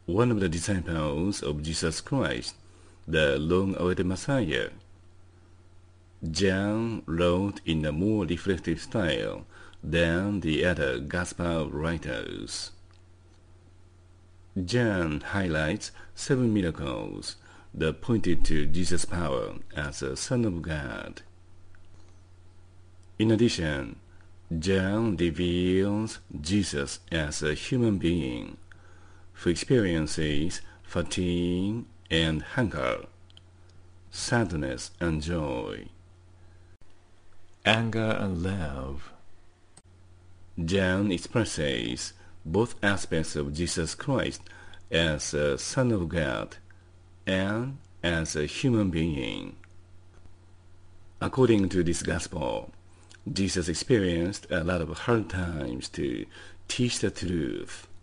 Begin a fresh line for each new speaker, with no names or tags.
one of the disciples of Jesus Christ, the long-awaited Messiah. John wrote in a more reflective style than the other Gospel writers. John highlights 7 miracles that pointed to Jesus' power as a Son of God. In addition, John reveals Jesus as a human being who experiences fatigue and hunger, sadness and joy, anger and love. John expresses both aspects of Jesus Christ as a Son of God and as a human being. According to this Gospel, Jesus experienced a lot of hard times to teach the truth.